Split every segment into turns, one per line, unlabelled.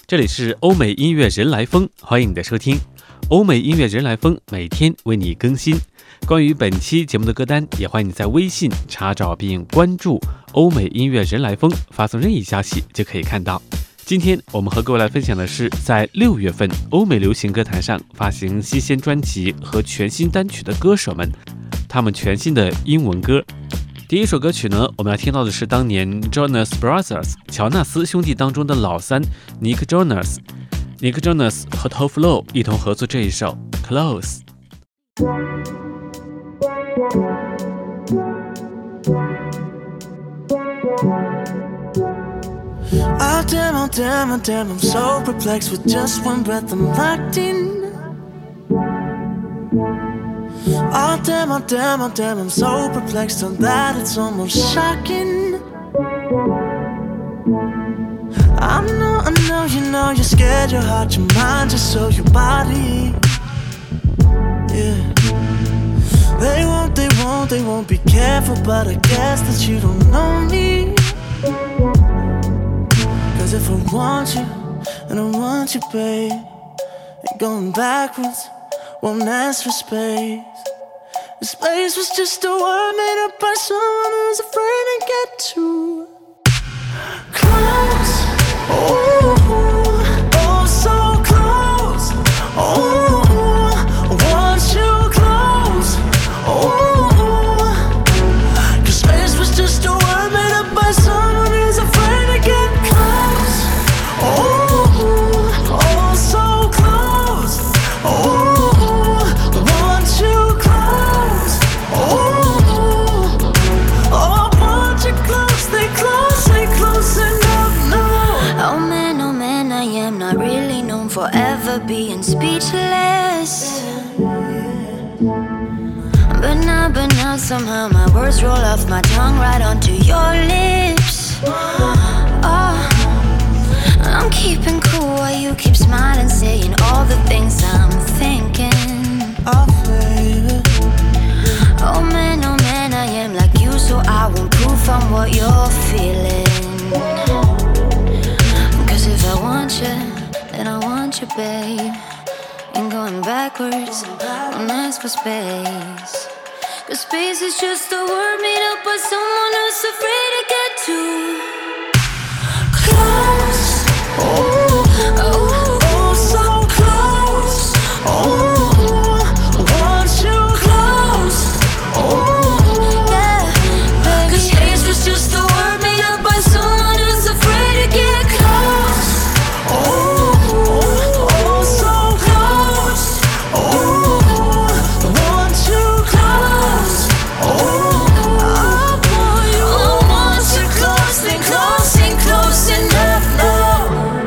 这里是欧美音乐人来疯，欢迎你的收听。欧美音乐人来疯每天为你更新。关于本期节目的歌单，也欢迎你在微信查找并关注欧美音乐人来疯，发送任意消息就可以看到。今天我们和各位来分享的是在6月份欧美流行歌坛上发行新鲜专辑和全新单曲的歌手们，他们全新的英文歌。第一首歌曲呢，我们要听到的是当年 Jonas Brothers 乔纳斯兄弟当中的老三 Nick Jonas 和 Tove Lo 一同合作这一首 Close。
Oh damn, oh damn, oh damn, I'm so perplexed. With just one breath I'm locked in. Oh damn, oh damn, oh damn, I'm so perplexed on that it's almost shocking. I know, you know, you're scared, your heart, your mind, just so your body. Yeah. They won't be careful, but I guess that you don't know me. Cause if I want you, and I want you, babe, and going backwards won't ask for space. The space was just a word made up by someone who's afraid to get too close. Oh, oh, so close. Oh, I want you close. Oh, cause space was just a word made up by someone who's afraid to get close. Oh, oh, so close. Oh, I want you close. Oh, I want you close. Stay close enough now.
Oh man, I am not really known for ever being speechless. But now somehow my words roll off my tongue right onto your lips. Oh, I'm keeping cool while you keep smiling, saying all the things I'm thinking.
Oh, baby.
Oh man, I am like you, so I won't proof on what you're feeling. Cause if I want you, then I want you, babe. And going backwards, don't ask for space. Cause space is just a word made up by someone who's afraid to get too close.
Oh, oh, oh, so close. Oh, I want you close. Oh,
yeah,
cause space was just a word made up by someone who's afraid to get close. Oh, oh, so close. Oh, I want you close. Oh, I want you close and close enough now.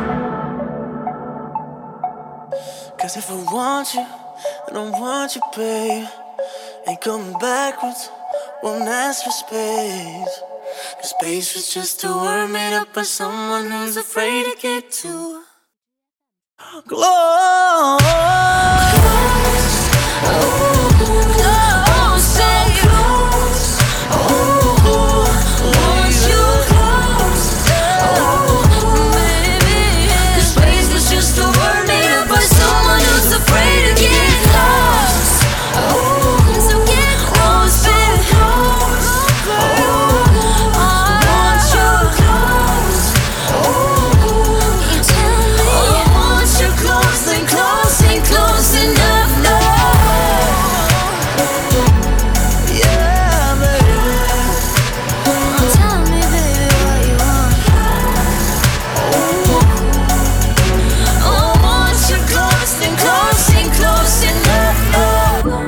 Cause if I want you, I don't want you, babe. Ain't coming backwards, won't ask for space. Cause space was just a word made up by someone who's afraid to get too close. Oh, so close. Oh, want you close. Oh, baby. Cause space was just a word made up by someone who's afraid to get close. Oh, so get close, baby. Oh, want you close. Oh,
you tell me.
I want you close and close enough now. Yeah, baby.
Tell me, baby, what you want.
I want you close and close enough now.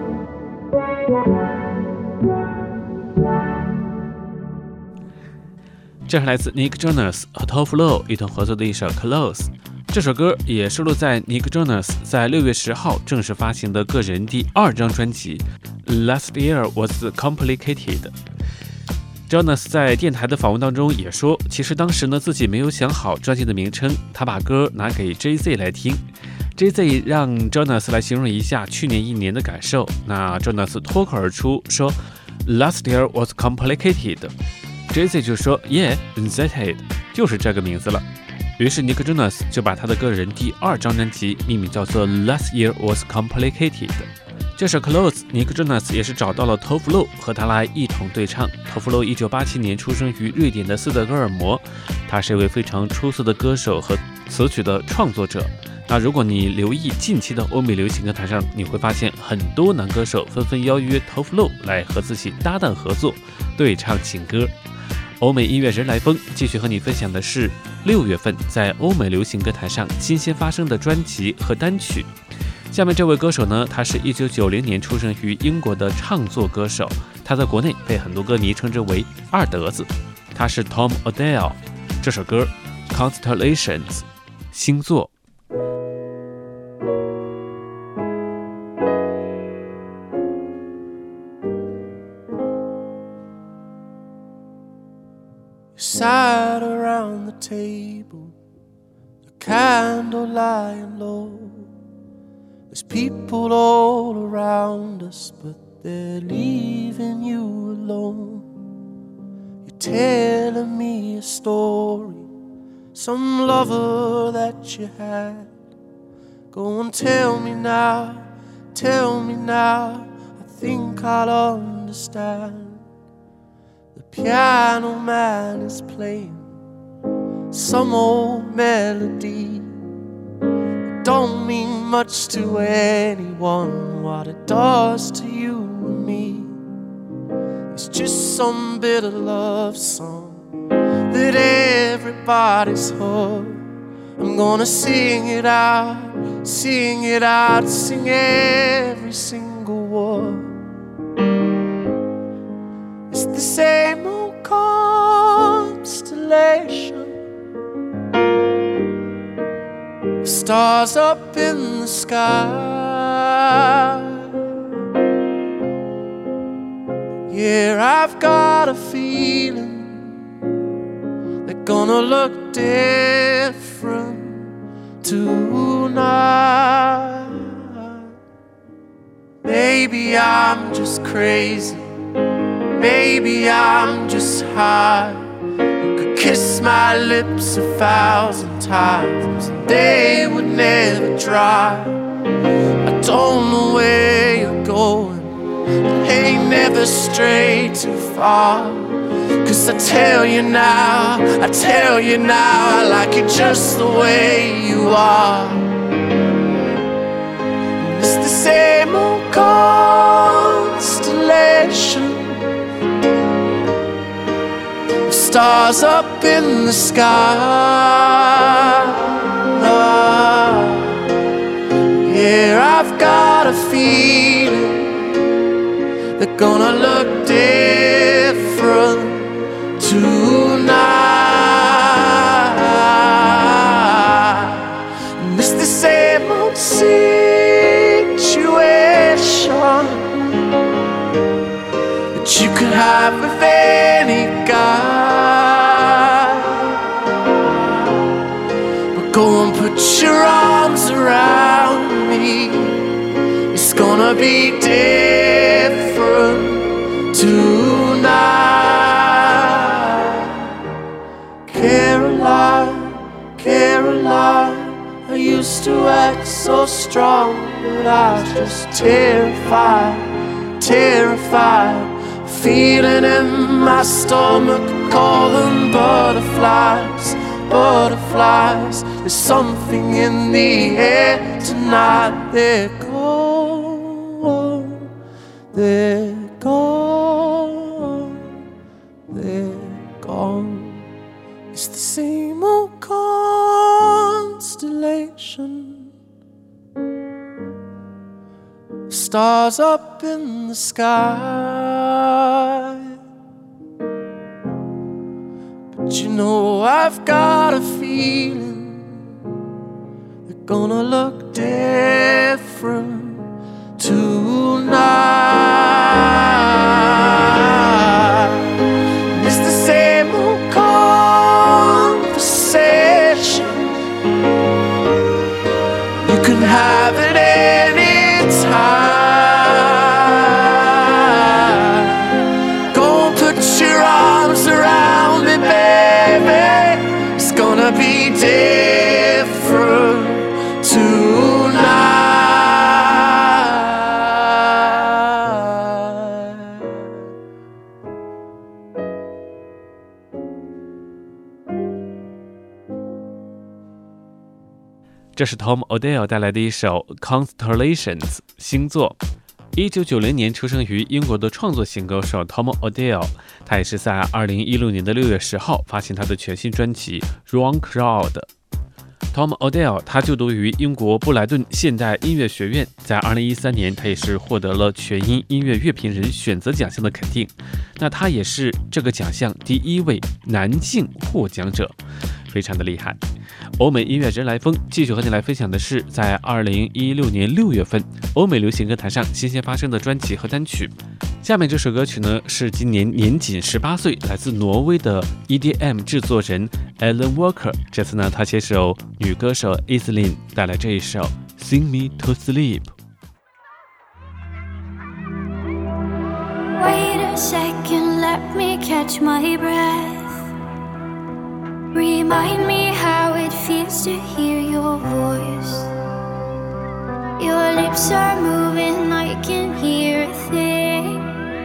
这是来自 Nick Jonas 和 Tove Lo 一同合作的一首 Close。 这首歌也收录在 Nick Jonas 在6月10号正式发行的个人第2张专辑 Last Year Was Complicated。 Jonas 在电台的访问当中也说，其实当时呢自己没有想好专辑的名称，他把歌拿给 Jay-Z 来听， Jay-Z 让 Jonas 来形容一下去年1年的感受，那 Jonas 脱口而出说 Last year was complicated， Jay-Z 就说 Yeah, that's it， 就是这个名字了。 于是尼克 Jonas 就把他的个人第2张专辑命名叫做 Last Year Was Complicated。这首 Close， 尼克 Jonas 也是找到了 Tove Lo 和他来一同对唱。Tove Lo 1987年出生于瑞典的斯德哥尔摩，他是一位非常出色的歌手和词曲的创作者。那如果你留意近期的欧美流行歌坛上，你会发现很多男歌手纷纷邀约 Tove Lo 来和自己搭档合作，对唱情歌。欧美音乐人来风继续和你分享的是6月份在欧美流行歌坛上新鲜发生的专辑和单曲。下面这位歌手呢，他是1990年出生于英国的唱作歌手，他在国内被很多歌迷称之为二德子。他是 Tom Odell， 这首歌 Constellations 星座。
Sat around the table, the candle lying low. There's people all around us, but they're leaving you alone. You're telling me a story, some lover that you had. Go and tell me now, I think I'll understand.The piano man is playing some old melody. It don't mean much to anyone what it does to you and me. It's just some bitter love song that everybody's heard. I'm gonna sing it out, sing every single word.It's the same old constellation, stars up in the sky. Yeah, I've got a feeling they're gonna look different tonight. Maybe I'm just crazy.Maybe I'm just high. You could kiss my lips 1,000 times and they would never dry. I don't know where you're going, but ain't never stray too far. 'Cause I tell you now, I like it just the way you are. And it's the same old constellation.Stars up in the sky. Yeah, I've got a feeling they're gonna look different tonight. And it's the same old situation that you could have with any guy.Go and put your arms around me. It's gonna be different tonight. Caroline, I used to act so strong, but I was just terrified. Feeling in my stomach, call them butterflies. There's something in the air tonight. They're gone. It's the same old constellation, stars up in the sky. But you know I've got a feeling they're gonna look different tonight. It's the same old conversation. You can have it anytime. Go and put your arms around me, baby. It's gonna be different
这是 Tom Odell 带来的一首 Constellations 星座。1990年出生于英国的创作型歌手 Tom Odell， 他也是在2016年的6月10号发行他的全新专辑 Wrong Crowd。Tom Odell 他就读于英国布莱顿现代音乐学院，在2013年他也是获得了全英音乐乐评人选择奖项的肯定，那他也是这个奖项第1位男性获奖者，非常的厉害。欧美音乐人来风继续和你来分享的是在2016年6月份欧美流行歌坛上新鲜发生的专辑和单曲。下面这首歌曲呢是今年年仅18岁来自挪威的 EDM 制作人 Alan Walker， 这次呢他携手女歌手 Iselin 带来这一首 Sing Me to
Sleep。Wait a second, let me catch my breath.Remind me how it feels to hear your voice. Your lips are moving, I can hear a thing.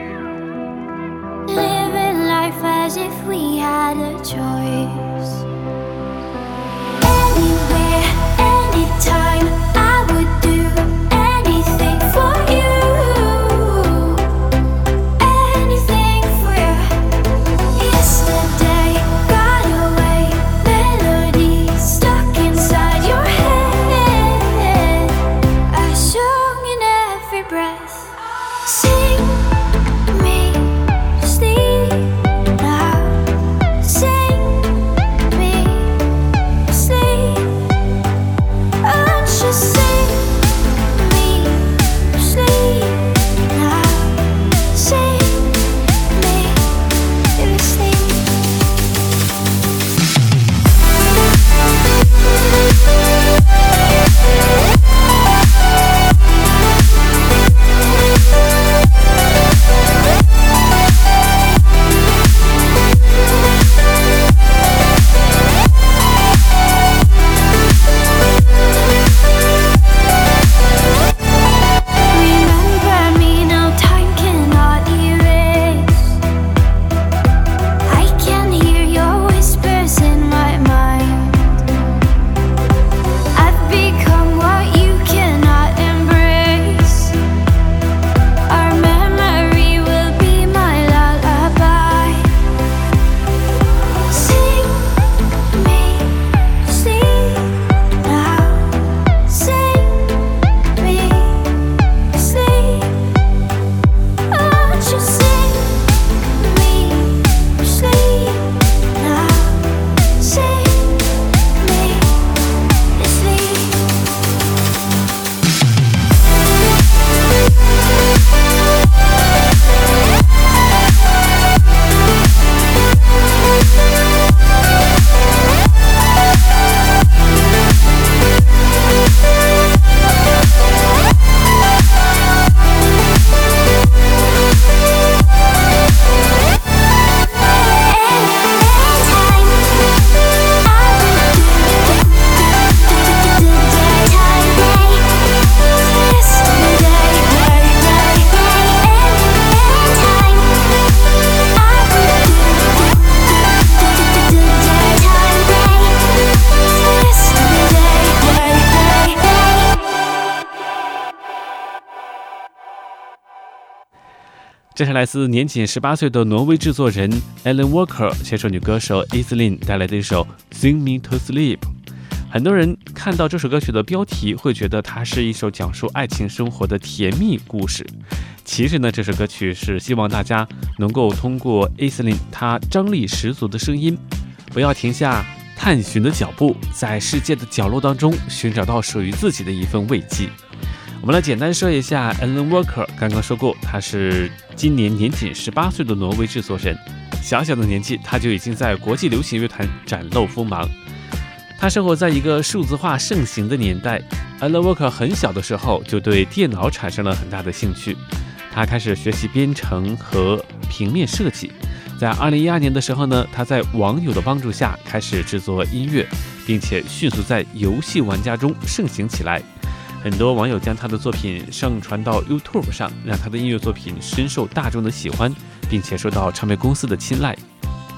Living life as if we had a choice. Anywhere, anytime, I would do anything for you.Anything for you. Yesterday got away.Stuck inside your head, a song in every breath. Sing me to sleep now. Sing me to sleep. Won't you sing me to sleep now? Sing me to sleep.Remember me now, time cannot erase. I can hear your whispers in my mind. I've become what you cannot embrace. Our memory will be my lullaby. Sing me to sleep now. Sing me to sleep. Won't you sing me to sleep now? Sing me to sleep.
这是来自年仅18岁的挪威制作人 Alan Walker 携手女歌手 Iselin 带来的一首 Sing Me to Sleep。 很多人看到这首歌曲的标题会觉得它是一首讲述爱情生活的甜蜜故事，其实呢这首歌曲是希望大家能够通过 Iselin 她张力十足的声音，不要停下探寻的脚步，在世界的角落当中寻找到属于自己的一份慰藉。我们来简单说一下 Alan Walker， 刚刚说过他是今年年仅18岁的挪威制作人，小小的年纪他就已经在国际流行乐坛展露锋芒。他生活在一个数字化盛行的年代， Alan Walker 很小的时候就对电脑产生了很大的兴趣，他开始学习编程和平面设计。在2012年的时候呢，他在网友的帮助下开始制作音乐，并且迅速在游戏玩家中盛行起来。很多网友将他的作品上传到 YouTube 上，让他的音乐作品深受大众的喜欢，并且受到唱片公司的青睐。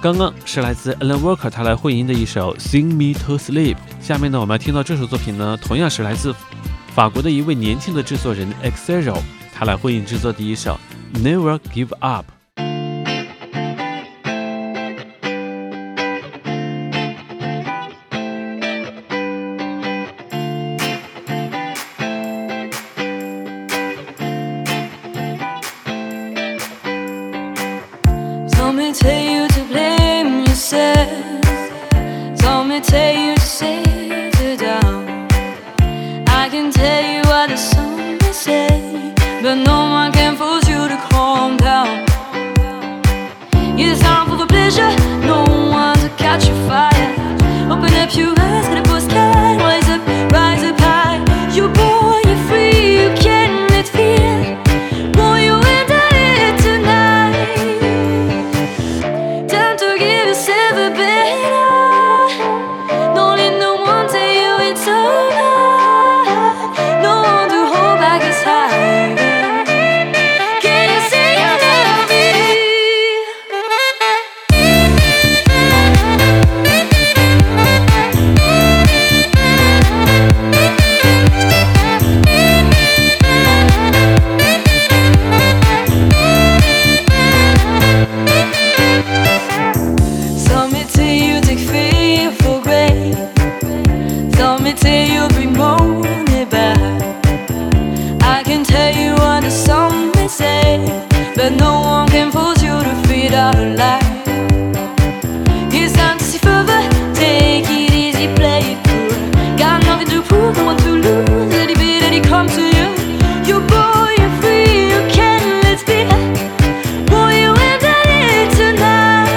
刚刚是来自 Alan Walker 他来混音的一首 Sing Me to Sleep。下面呢，我们要听到这首作品呢，同样是来自法国的一位年轻的制作人 Xero 他来混音制作的一首 Never Give Up。
Some may tell you to blame yourself. Some may tell you to settle down. I can tell you what the sun may say, but no one can force you to calm down. It's time for the pleasure, no one to catch your fire. Open up your eyes, get a postcard. Rise up high. You're born, you're free, you can let feel. Boy, you and I tonight. Time to give yourself a better. Don't let no one tell you it's over. No one to hold back his heart. Can you say you love me? Some may tell you take fear for granted. Some may tell you bring money back. I can tell you what the some may say, but no one can force you to feed out alive. It's time to see further. Take it easy, play it cool. Got nothing to prove, no one to lose. Let it be, let it come to you. You're boy, you're free, you can let's be. Boy, you and I tonight.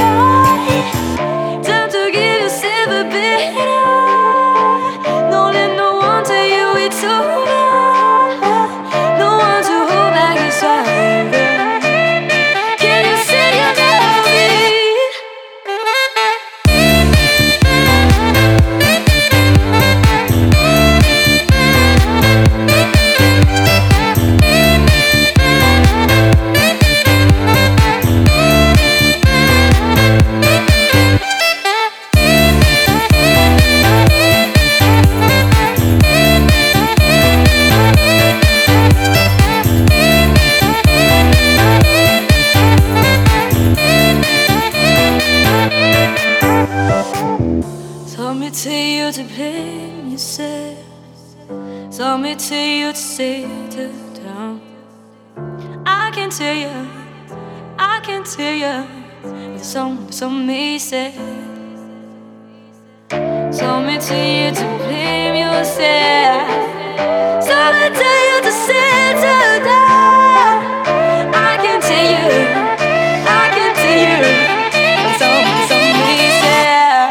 Time to give yourself a better. Don't let no one tell you it's over. No one to hold back his heart. Can you say you love me? Some may tell you to blame yourself. Some may tell you to settle down. I can tell you, but some may say. Some may tell you to blame yourself. Some may tell you to settle down. I can tell you, but some may say.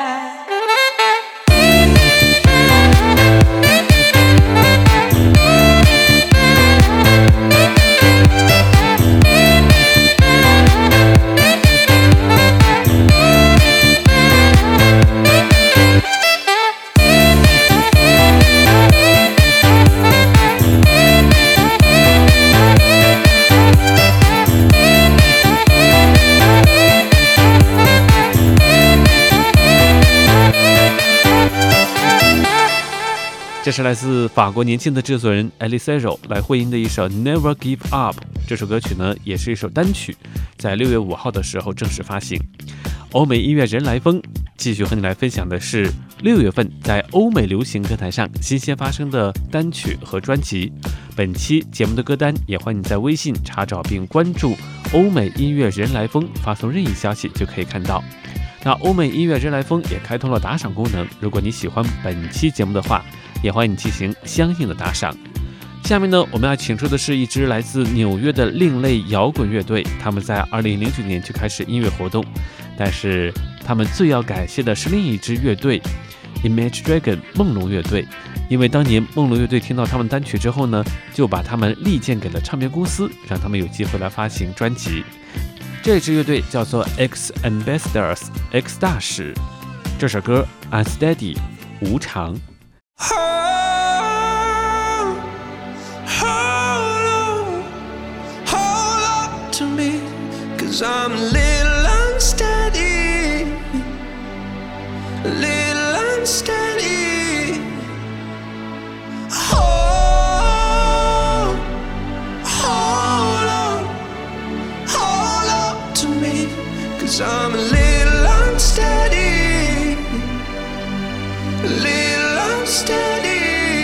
这是来自法国年轻的制作人 Xero 来混音的一首 Never Give Up。这首歌曲呢，也是一首单曲，在6月5号的时候正式发行。欧美音乐人来风继续和你来分享的是6月份在欧美流行歌坛上新鲜发生的单曲和专辑。本期节目的歌单也欢迎你在微信查找并关注欧美音乐人来风，发送任意消息就可以看到。那欧美音乐人来风也开通了打赏功能，如果你喜欢本期节目的话，也欢迎你进行相应的打赏。下面呢，我们要请出的是一支来自纽约的另类摇滚乐队，他们在2009年就开始音乐活动，但是他们最要感谢的是另一支乐队 Imagine Dragon 梦龙乐队，因为当年梦龙乐队听到他们单曲之后呢，就把他们力荐给了唱片公司，让他们有机会来发行专辑。这支乐队叫做 X Ambassadors X 大使，这首歌 Unsteady 无常。
Hold on to me, 'cause I'm a little unsteady little unsteady. Hold on to me, 'cause I'm a little unsteady, a little unsteady.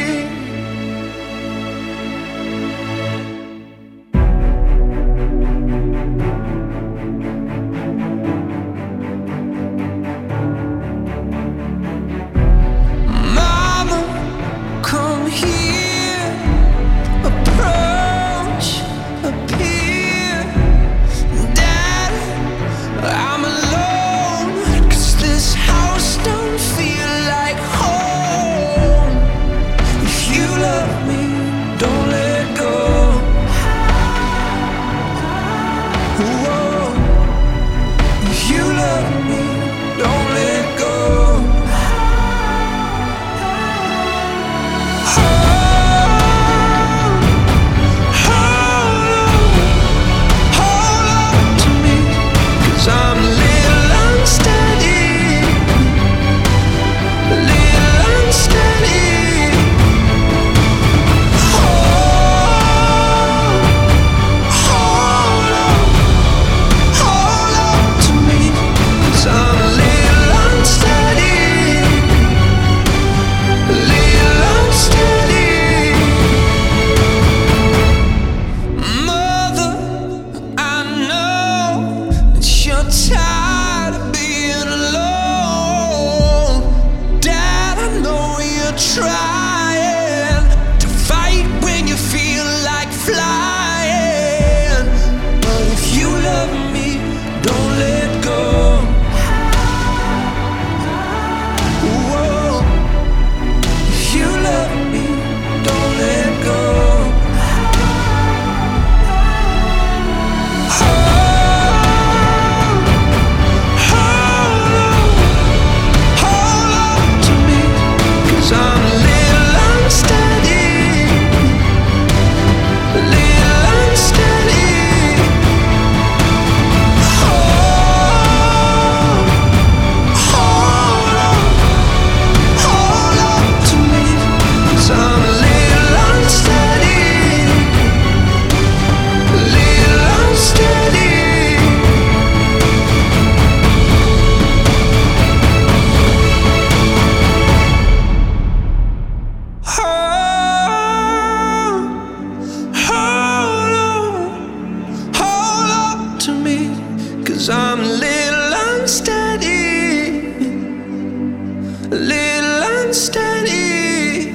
Cause I'm a little unsteady, a little unsteady.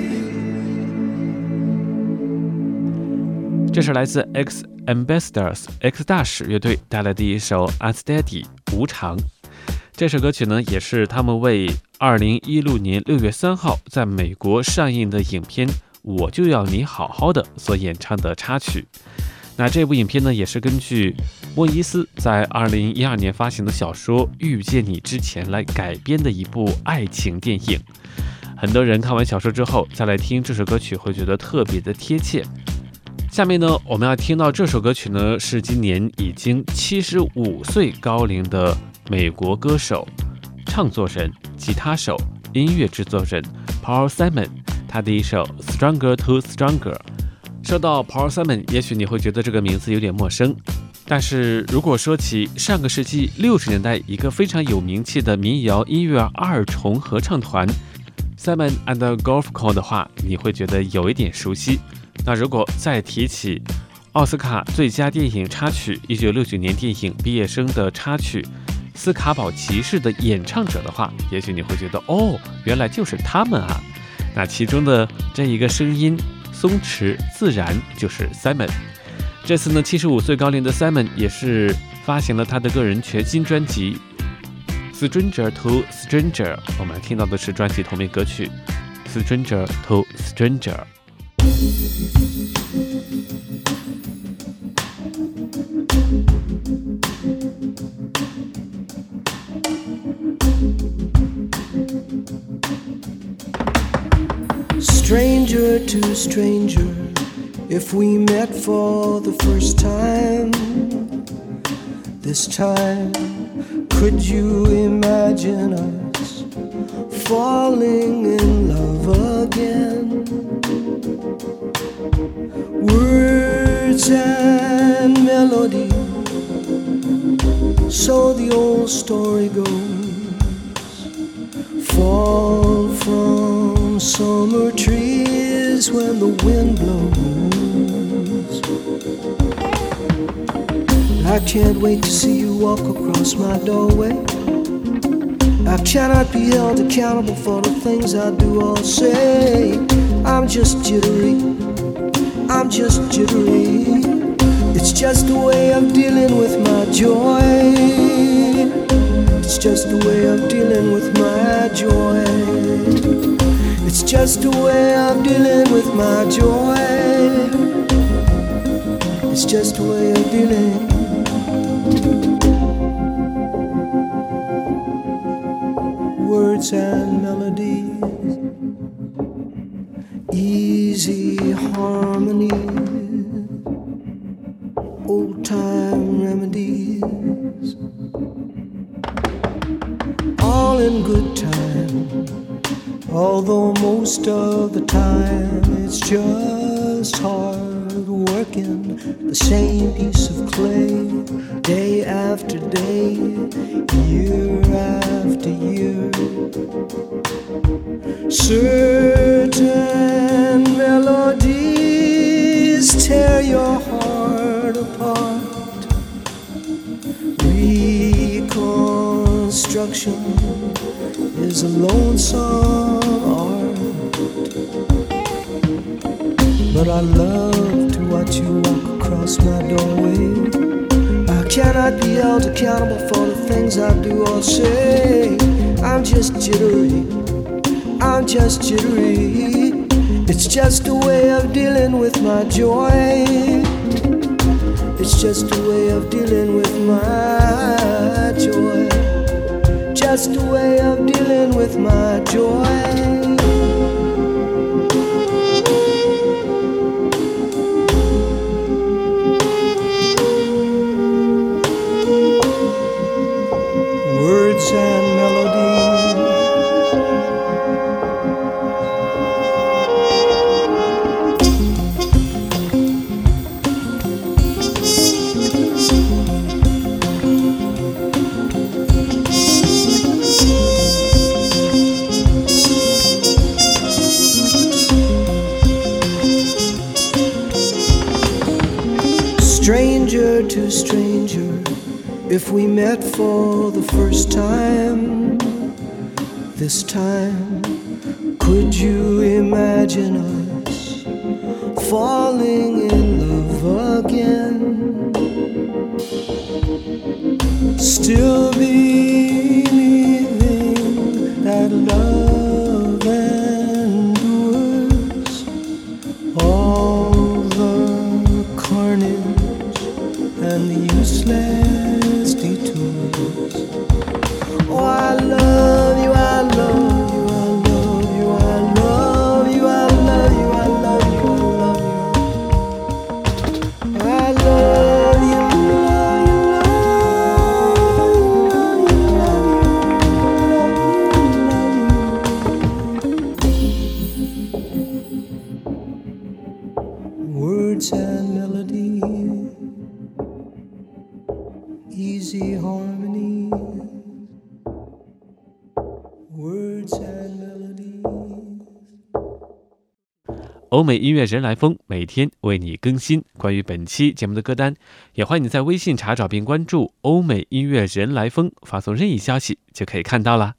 这是来自 X Ambassadors X 大使乐队带来的一首 Unsteady 无常。这首歌曲呢，也是他们为2016年6月3号在美国上映的影片《我就要你好好的》所演唱的插曲。那这部影片呢，也是根据莫伊斯在2012年发行的小说《遇见你之前》来改编的一部爱情电影。很多人看完小说之后再来听这首歌曲，会觉得特别的贴切。下面呢，我们要听到这首歌曲呢，是今年已经75岁高龄的美国歌手、唱作人、吉他手、音乐制作人 Paul Simon 他的一首 Stronger to Stronger。说到 Paul Simon， 也许你会觉得这个名字有点陌生，但是如果说起上个世纪60年代一个非常有名气的民谣音乐二重合唱团 Simon and Garfunkel 的话，你会觉得有一点熟悉。那如果再提起奥斯卡最佳电影插曲1969年电影毕业生的插曲斯卡堡骑士的演唱者的话，也许你会觉得哦，原来就是他们啊。那其中的这一个声音松弛自然，就是 Simon。 这次呢，75岁高龄的 Simon 也是发行了他的个人全新专辑 Stranger to Stranger， 我们听到的是专辑同名歌曲 Stranger to Stranger。
Stranger to stranger, if we met for the first time, this time, could you imagine us falling in love again. Words and melody, so the old story goes. Fall from summer trees when the wind blows. I can't wait to see you walk across my doorway. I cannot be held accountable for the things I do or say. I'm just jittery, I'm just jittery. It's just a way of dealing with my joy. It's just a way of dealing with my joy. It's just a way of dealing with my joy. It's just a way of dealing. Words and melodies, easy harmonies, old time remedies, all in good time, although most of the time it's just hard working the same piece of clay, day after day, year after year. Certain melodies tear your heart apart. Reconstruction is a lonesome art. But I love to watch you walk across my doorway. I cannot be held accountable for the things I do or say. I'm just jittery, I'm just jittery. It's just a way of dealing with my joy. It's just a way of dealing with my joy. Just a way of dealing with my joy. Words and melodies, stranger to stranger, if we met for the first time, this time, could you imagine us falling in love again? Still believing that love endures all the carnage and the useless detours. Oh, I love you, I love you, I love you, I love you, I love you, I love you, I love you, I love you, words and melody, easy harmony, words and melody。
欧美音乐人来疯每天为你更新关于本期节目的歌单，也欢迎你在微信查找并关注欧美音乐人来疯，发送任意消息就可以看到了。